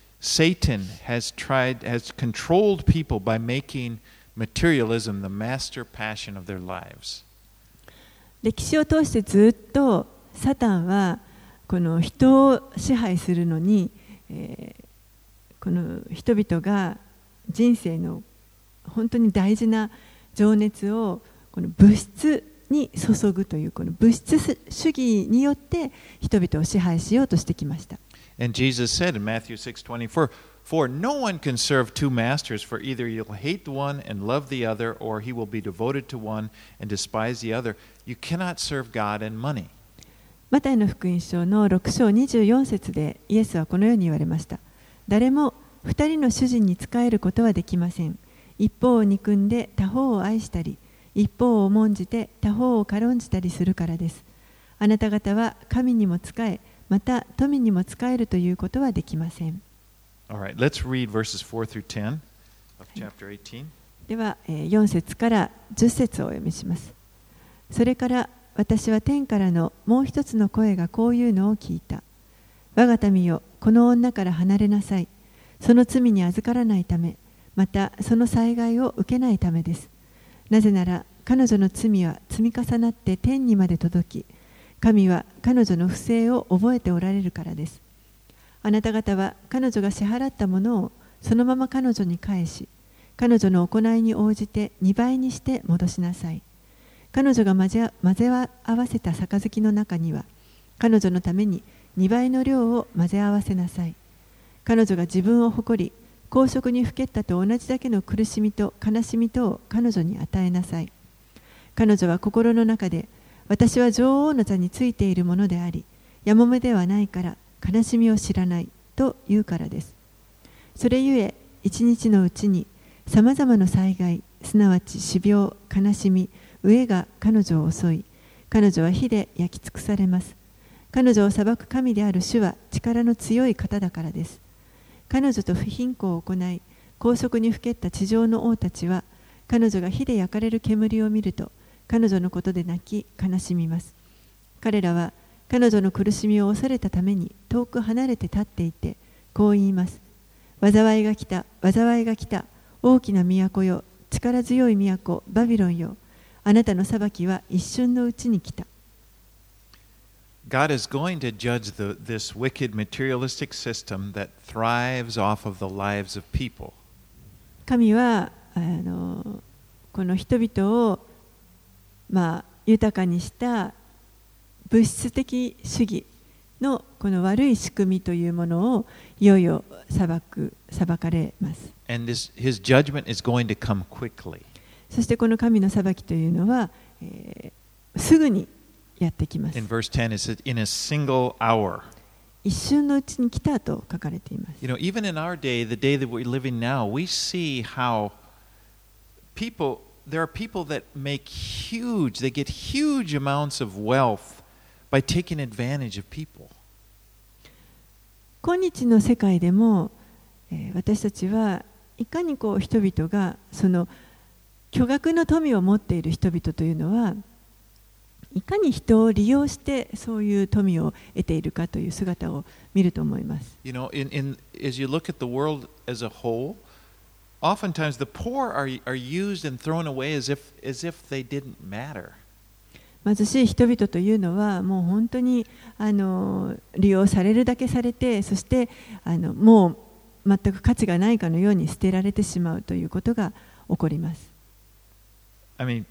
Satan has tried, has controlled people by making materialism the master passion of their lives. 歴史を通してずっとサタンはこの人を支配するのに、えー、この人々が人生の本当に大事な情熱をこの物質に注ぐというこの物質主義によって人々を支配しようとしてきました。 And Jesus said in Matthew six twenty-four, For no one can serve two masters, for either you'll hate the one and love the other, or he will be devoted to one and despise the other. You cannot serve God and money. マタイの福音書のろく章にじゅうよん節でイエスはこのように言われました。誰も二人の主人に仕えることはできません。一方を憎んで他方を愛したり、一方を重んじて他方を軽んじたりするからです。あなた方は神にも仕え、また富にも仕えるということはできません。 All right, let's read verses four through ten of chapter eighteen. では、よん節からじゅっ節をお読みします。それから私は天からのもう一つの声がこういうのを聞いた。我が民よ、この女から離れなさい。その罪に預からないため、またその災害を受けないためです。なぜなら彼女の罪は積み重なって天にまで届き、神は彼女の不正を覚えておられるからです。あなた方は彼女が支払ったものをそのまま彼女に返し、彼女の行いに応じてにばいにして戻しなさい。彼女が混ぜ合わせた杯の中には、彼女のためににばいの量を混ぜ合わせなさい。彼女が自分を誇り、公職にふけったと同じだけの苦しみと悲しみとを彼女に与えなさい。彼女は心の中で、私は女王の座についているものであり、やもめではないから悲しみを知らないと言うからです。それゆえ、一日のうちにさまざまな災害、すなわち死病、悲しみ、飢えが彼女を襲い、彼女は火で焼き尽くされます。彼女を裁く神である主は力の強い方だからです。彼女と不貧困を行い、公職にふけった地上の王たちは、彼女が火で焼かれる煙を見ると、彼女のことで泣き悲しみます。彼らは彼女の苦しみを恐れたために遠く離れて立っていて、こう言います。災いが来た、災いが来た、大きな都よ、力強い都、バビロンよ。あなたの裁きは一瞬のうちに来た。 God is going to judge the, this wicked materialistic system that thrives off of the lives of people. 神はあのこの人々を、まあ、豊かにした物質的主義のこの悪い仕組みというものをいよいよ裁く、裁かれます。 And this, his judgment is going to come quickly. そしてこの神の裁きというのは、えー、すぐにやってきます。 In verse ten, it says, in a single hour. 一瞬のうちに来たと書かれています。 You know, even in our day, the day that we're living now, we see how people, there are people that make huge, they get huge amounts of wealth by taking advantage of people. 今日の世界でも、えー、私たちはいかにこう人々がその巨額の富を持っている人々というのはいかに人を利用してそういう富を得ているかという姿を見ると思います。 You know, in, in, as you look at the world as a whole, oftentimes the poor are, are used and thrown away as if, as if they didn't matter. 貧しい人々というのはもう本当にあの利用されるだけされて、そしてあのもう全く価値がないかのように捨てられてしまうということが起こります。 I mean,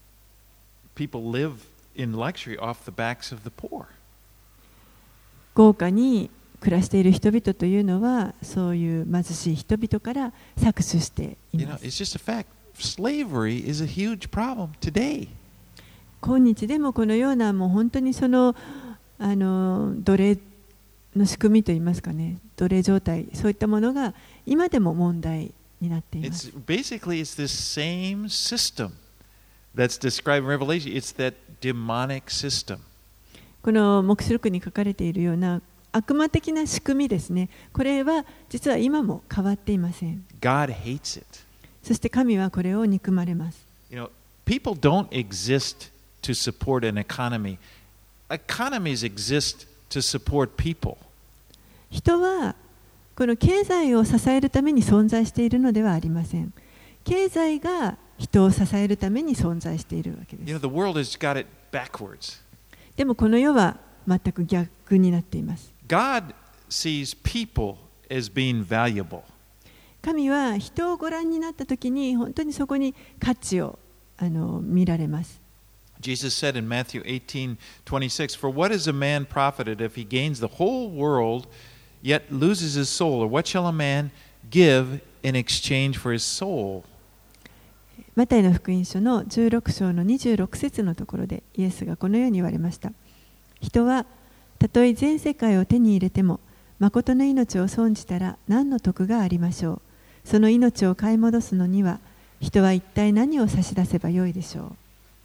people live in luxury off the backs of the poor. 豪華に暮らしている人々というのはそういう貧しい人々から搾取してい You know, ます。 it's just a fact. Slavery is a huge problem today. 今日でもこのようなもう本当にそのあの奴隷の仕組みといいますかね、奴隷状態、そういったものが今でも問題になっています。 It's basically it's this same system that's described in Revelation. It's that demonic system. この黙示録に書かれているような悪魔的な仕組みですね。これは実は今も変わっていません。 God hates it. そして神はこれを憎まれます。 You know, people don't exist to support an economy. Economies exist to support people. 人はこの経済を支えるために存在しているのではありません。経済が人を支えるために存在しているわけです。 You know, the world has got it backwards. でもこの世は全く逆になっています。 God sees people as being valuable. 神は人をご覧になったときに本当にそこに価値をあの見られます。 Jesus said in Matthew eighteen twenty-six, "For what is a man profited if he gains the whole world, yet loses his soul? Or what shall a man give in exchange for his soul?" マタイの福音書のじゅうろく章のにじゅうろく節のところでイエスがこのように言われました。人はたとえ全世界を手に入れても誠の命を損じたら何の得がありましょう。その命を買い戻すのには人は一体何を差し出せばよいでしょう。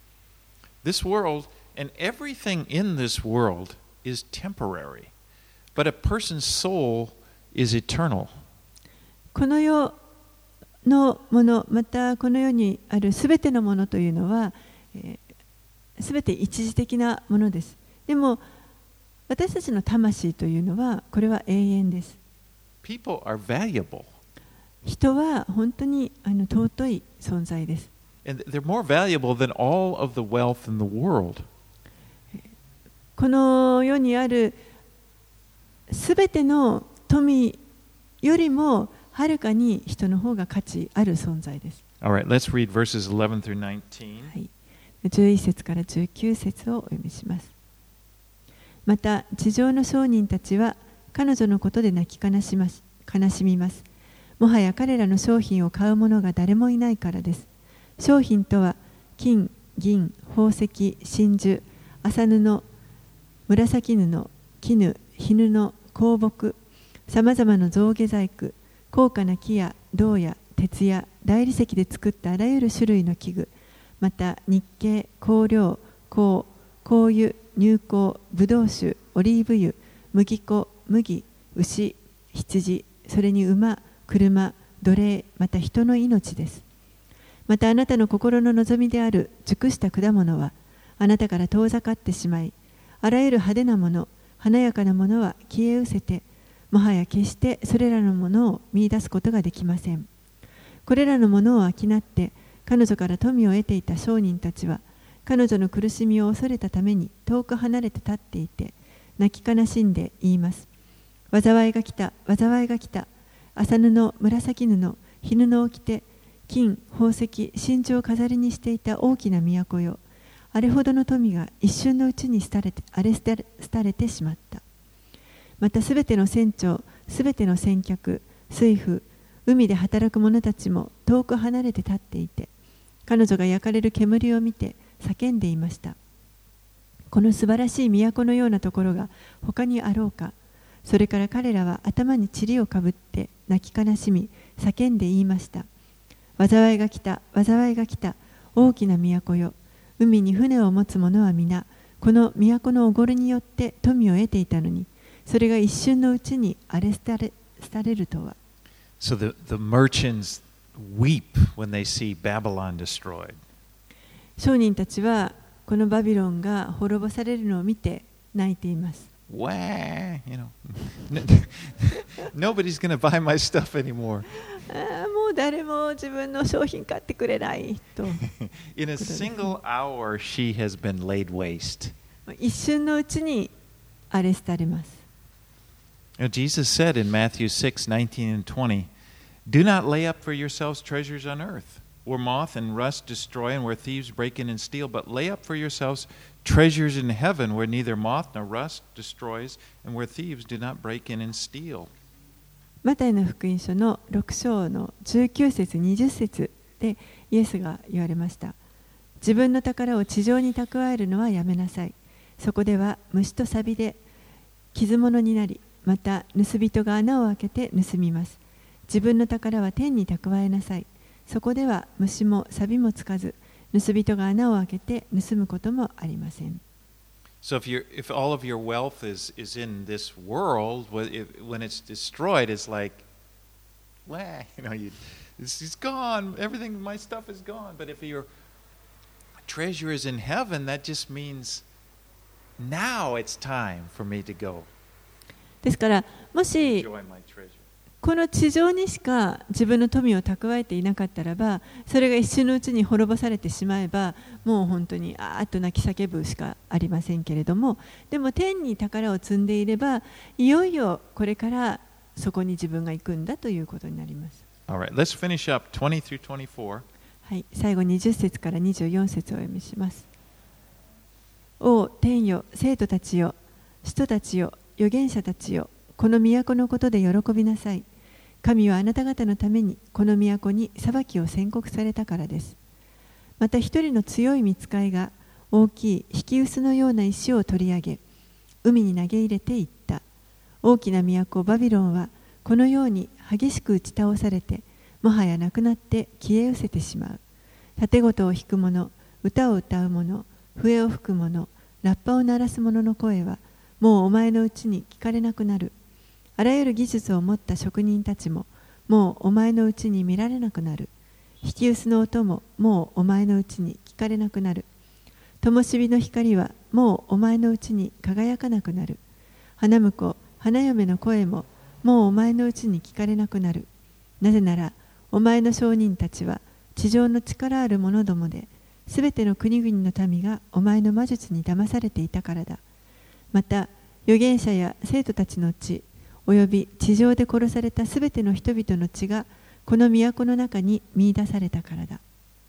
This world and everything in this world is temporary, but a person's soul is eternal. この世のもの、またこの世にあるすべてのものというのは、すべて一時的なものです。でも私たちの魂というのはこれは永遠です。 People are valuable. 人は本当にあの尊い存在です。 And they're more valuable than all of the wealth in the world. この世にあるすべての富よりもはるかに人の方が価値ある存在です。 All right, let's read verses eleven through nineteen. はい、じゅういち節からじゅうきゅう節をお読みします。また地上の商人たちは彼女のことで泣き悲します、悲しみます。もはや彼らの商品を買う者が誰もいないからです。商品とは金、銀、宝石、真珠、麻布、紫布、絹、絹の香木、さまざまな象牙細工、高価な木や銅や鉄や大理石で作ったあらゆる種類の器具、また日系、香料、香、香油、乳香、ブドウ酒、オリーブ油、麦粉、麦、牛、羊、それに馬、車、奴隷、また人の命です。またあなたの心の望みである熟した果物はあなたから遠ざかってしまい、あらゆる派手なもの、華やかなものは消え失せて、もはや決してそれらのものを見出すことができません。これらのものを商って彼女から富を得ていた商人たちは、彼女の苦しみを恐れたために遠く離れて立っていて、 泣き悲しんで言います。災いが来た、災いが来た。麻布、紫布、絹布を着て、金、宝石、真珠を飾りにしていた大きな都よ。あれほどの富が一瞬のうちに廃れて、荒れ廃れてしまった。またすべての船長、すべての船客、水夫、海で働く者たちも遠く離れて立っていて、彼女が焼かれる煙を見て叫んでいました。この素晴らしい都のようなところが他にあろうか。それから彼らは頭に塵をかぶって泣き悲しみ、叫んで言いました。災いが来た、災いが来た、大きな都よ。海に船を持つ者は皆、この都のおごりによって富を得ていたのに、それが一瞬のうちに荒れ廃れ、廃れるとは。 So the, the merchants weep when they see Babylon destroyed. 商人たちはこのバビロンが滅ぼされるのを見て泣いています。 Wah, you know, nobody's going to buy my stuff anymore. ああ、もう誰も自分の商品買ってくれないと。 In a single hour, she has been laid waste. 一瞬のうちに荒れ廃れます。 You know, Jesus said in Matthew six, nineteen and twenty, "Do not lay up for yourselves treasures on earth, where moth and rust destroy and where thieves break in and steal, but lay up for yourselves treasures in heaven, where neither moth nor rust destroys and where thieves do not break in and steal." マタイの福音書のろく章のじゅうきゅう節、にじゅう節でイエスが言われました。自分の宝を地上に蓄えるのはやめなさい。そこでは虫と錆で傷物になり、また盗人が穴を開けて盗みます。自分の宝は天に蓄えなさい。そこでは虫も錆もつかず、盗人が穴を開けて盗むこともありません。 So if you if all of your wealth is is in this world, when it's destroyed, it's like, well, you know, you, it's, it's gone. Everything, my stuff is gone. But if your treasure is in heaven, that just means now it's time for me to go. ですからもし Enjoy my treasure. この地上にしか自分の富を蓄えていなかったらば、それが一瞬のうちに滅ぼされてしまえば、もう本当にあーっと泣き叫ぶしかありませんけれども、でも天に宝を積んでいれば、いよいよこれからそこに自分が行くんだということになります。 All right, let's finish up twenty through twenty-four. はい、最後にじゅっ節からにじゅうよん節をお読みします。お天よ、生徒たちよ、使徒たちよ、預言者たちよ、この都のことで喜びなさい。神はあなた方のためにこの都に裁きを宣告されたからです。また一人の強い御使いが大きい引き臼のような石を取り上げ、海に投げ入れていった。大きな都バビロンはこのように激しく打ち倒されて、もはやなくなって消え失せてしまう。盾事を弾く者、歌を歌う者、笛を吹く者、ラッパを鳴らす者の声はもうお前のうちに聞かれなくなる。あらゆる技術を持った職人たちももうお前のうちに見られなくなる。引き臼の音ももうお前のうちに聞かれなくなる。灯火の光はもうお前のうちに輝かなくなる。花婿、花嫁の声ももうお前のうちに聞かれなくなる。なぜならお前の商人たちは地上の力ある者どもで、すべての国々の民がお前の魔術に騙されていたからだ。また預言者や生徒たちの血および地上で殺されたすべての人々の血がこの都の中に見出されたからだ。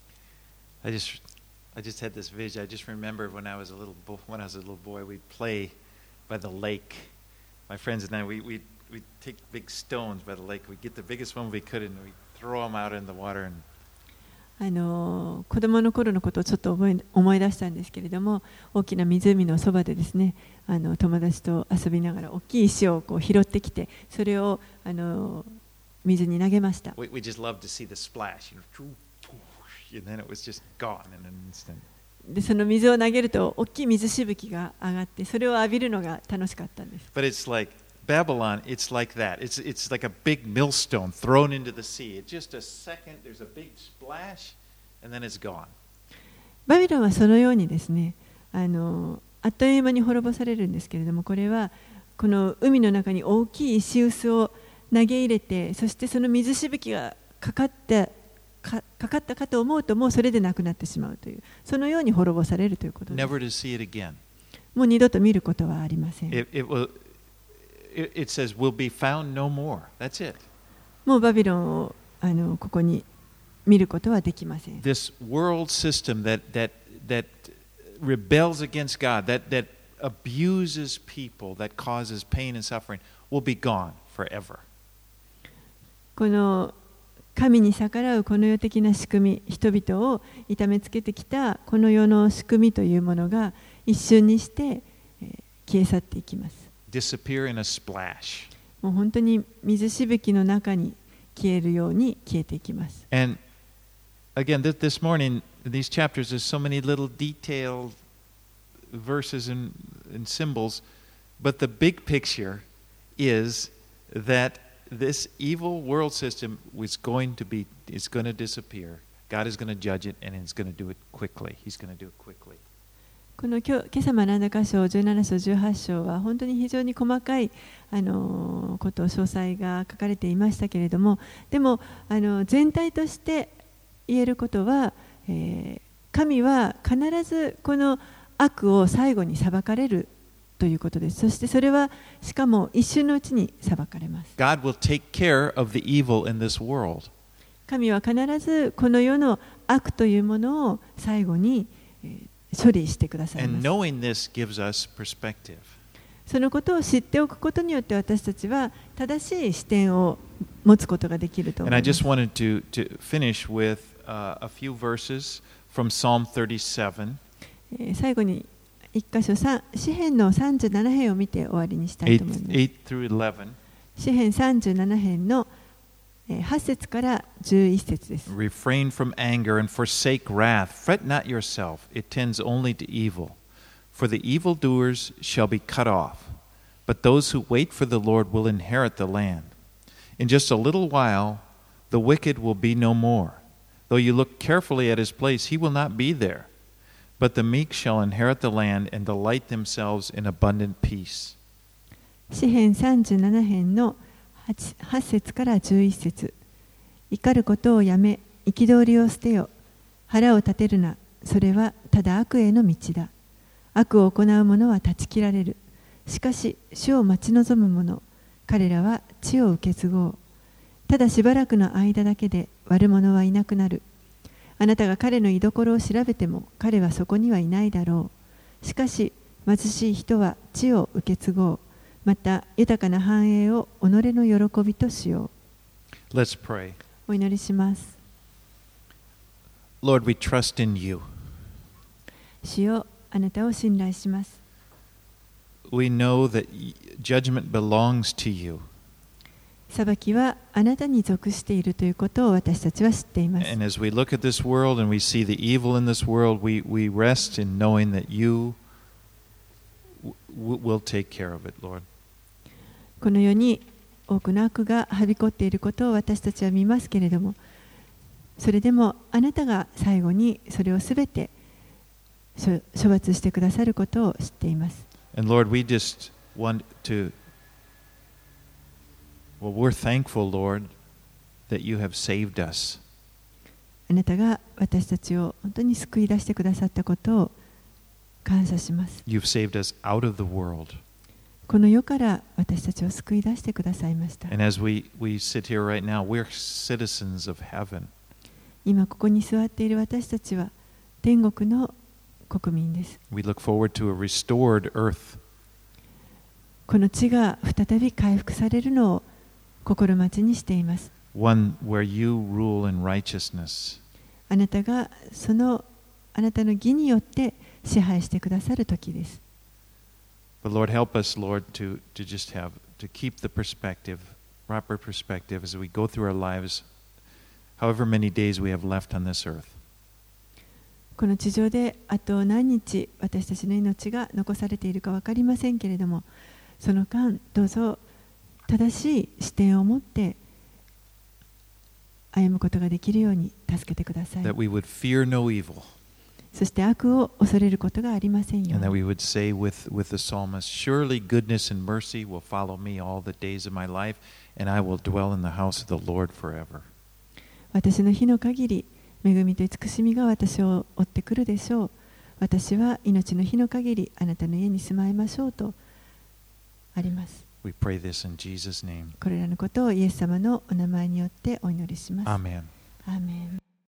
I just, I just had this vision. I just remembered when I was a little, bo- when I was a little boy, we'd play by the lake. My friends and I, we we we'd take big stones by the lake. We'd get the biggest one we could, and we'd throw them out in the water. And あの子供の頃のことをちょっと覚え思い出したんですけれども、大きな湖のそばでですね、あの友達と遊びながら大きい石をこう拾ってきて、それをあの水に投げました。 we, we just loved to see the splash, you know, and then it was just gone in an instant. でその水を投げると大きい水しぶきが上がって、それを浴びるのが楽しかったんです。 But it's like Babylon, it's like that. It's it's like a big millstone thrown into the sea. It's just a second, there's a big splash, and then it's gone. バビロンはそのようにですね、あのあっという間に滅ぼされるんですけれども、これはこの海の中に大きい石臼を投げ入れて、そしてその水しぶきがかかったか、かかったかと思うと、もうそれでなくなってしまうという、そのように滅ぼされるということです。 Never to see it again. もう二度と見ることはありません。 It, it, will, it, it says, will be found no more. That's it. もうバビロンをあのここに見ることはできません。 This world system that, that, that rebels against God, that, that abuses people, that causes pain and suffering, will be gone forever. この神に逆らうこの世的な仕組み、人々を痛めつけてきたこの世の仕組みというものが一瞬にして、えー、消え去っていきます。 Disappear in a splash. もう本当に水しぶきの中に消えるように消えていきます。 And again, this, this morning, in these chapters, there's so many little detailed verses and, and symbols, but the big picture is that this evil world system is going to be, is going to disappear. God is going to judge it, and He's going to do it quickly. He's going to do it quickly. この今日今朝学んだ箇所じゅうなな章じゅうはち章は本当に非常に細かいあのこと詳細が書かれていましたけれども、でもあの全体として言えることは、えー、神は必ずこの悪を最後に裁かれるということです。そしてそれはしかも一瞬のうちに裁かれます。 God will take care of the evil in this world. 神は必ずこの世の悪というものを最後に、えー処理してくださいます。そのことを知っておくことによって私たちは正しい視点を持つことができると思います。 And I just wanted to, to finish with、uh, a few verses from Psalm thirty-seven. 最後に一箇所詩編のさんじゅうなな編を見て終わりにしたいと思います。 eight through eleven. 詩編さんじゅうなな編のはち節からじゅういち節です。 Refrain from anger and forsake wrath. Fret not yourself. It tends only to evil. For the evildoers shall be cut off. But those who wait for the Lord will inherit the land. In just a little while, the wicked will be no more. Though you look carefully at his place, he will not be there. But the meek shall inherit the land and delight themselves in abundant peace. 詩編さんじゅうなな編のはち節からじゅういち節。怒ることをやめ、憤りを捨てよ。腹を立てるな。それはただ悪への道だ。悪を行う者は断ち切られる。しかし、主を待ち望む者、彼らは地を受け継ごう。ただしばらくの間だけで悪者はいなくなる。あなたが彼の居所を調べても、彼はそこにはいないだろう。しかし、貧しい人は地を受け継ごう。また豊かな繁栄を己の喜びとしよう。Let's pray. お祈りします。 Lord, we trust in you. 主よ、あなたを信頼します。 We know that judgment belongs to you. 裁きはあなたに属しているということを私たちは知っています。 And as we look at this world and we see the evil in this world, we, we rest in knowing that you will take care of it, Lord. この世に多くの悪がはびこっていることを私たちは見ますけれども、それでもあなたが最後にそれをすべて処罰してくださることを知っています。 And Lord, we just want to, well, we're thankful, Lord, that you have saved us. あなたが私たちを本当に救い出してくださったことを感謝します。 You've saved us out of the world. この世から私たちを救い出してくださいました。 And as we, we sit here right now, we're citizens of heaven. 今ここに座っている私たちは天国の国民です。 We look forward to a restored earth. この地が再び回復されるのを心待ちにしています。 One where you rule in righteousness. あなたがそのあなたの義によって支配してくださる時です。 But Lord, help us, Lord, to, to just have, to keep the perspective, proper perspective as we go through our lives, however many days we have left on this earth. この地上であと何日私たちの命が残されているか分かりませんけれども、その間どうぞ正しい視点を持って歩むことができるように助けてください。 That we would fear no evil. そして悪を恐れることがありませんように。 And that we would say with, with the psalmist, surely goodness and mercy will follow me all the days of my life, and I will dwell in the house of the Lord forever. 私の日の限り、恵みと慈しみが私を追ってくるでしょう。 私は命の日の限りあなたの家に住まいましょうとあります。 We pray this in Jesus' name. これらのことをイエス様のお名前によってお祈りします。 Amen. アーメン。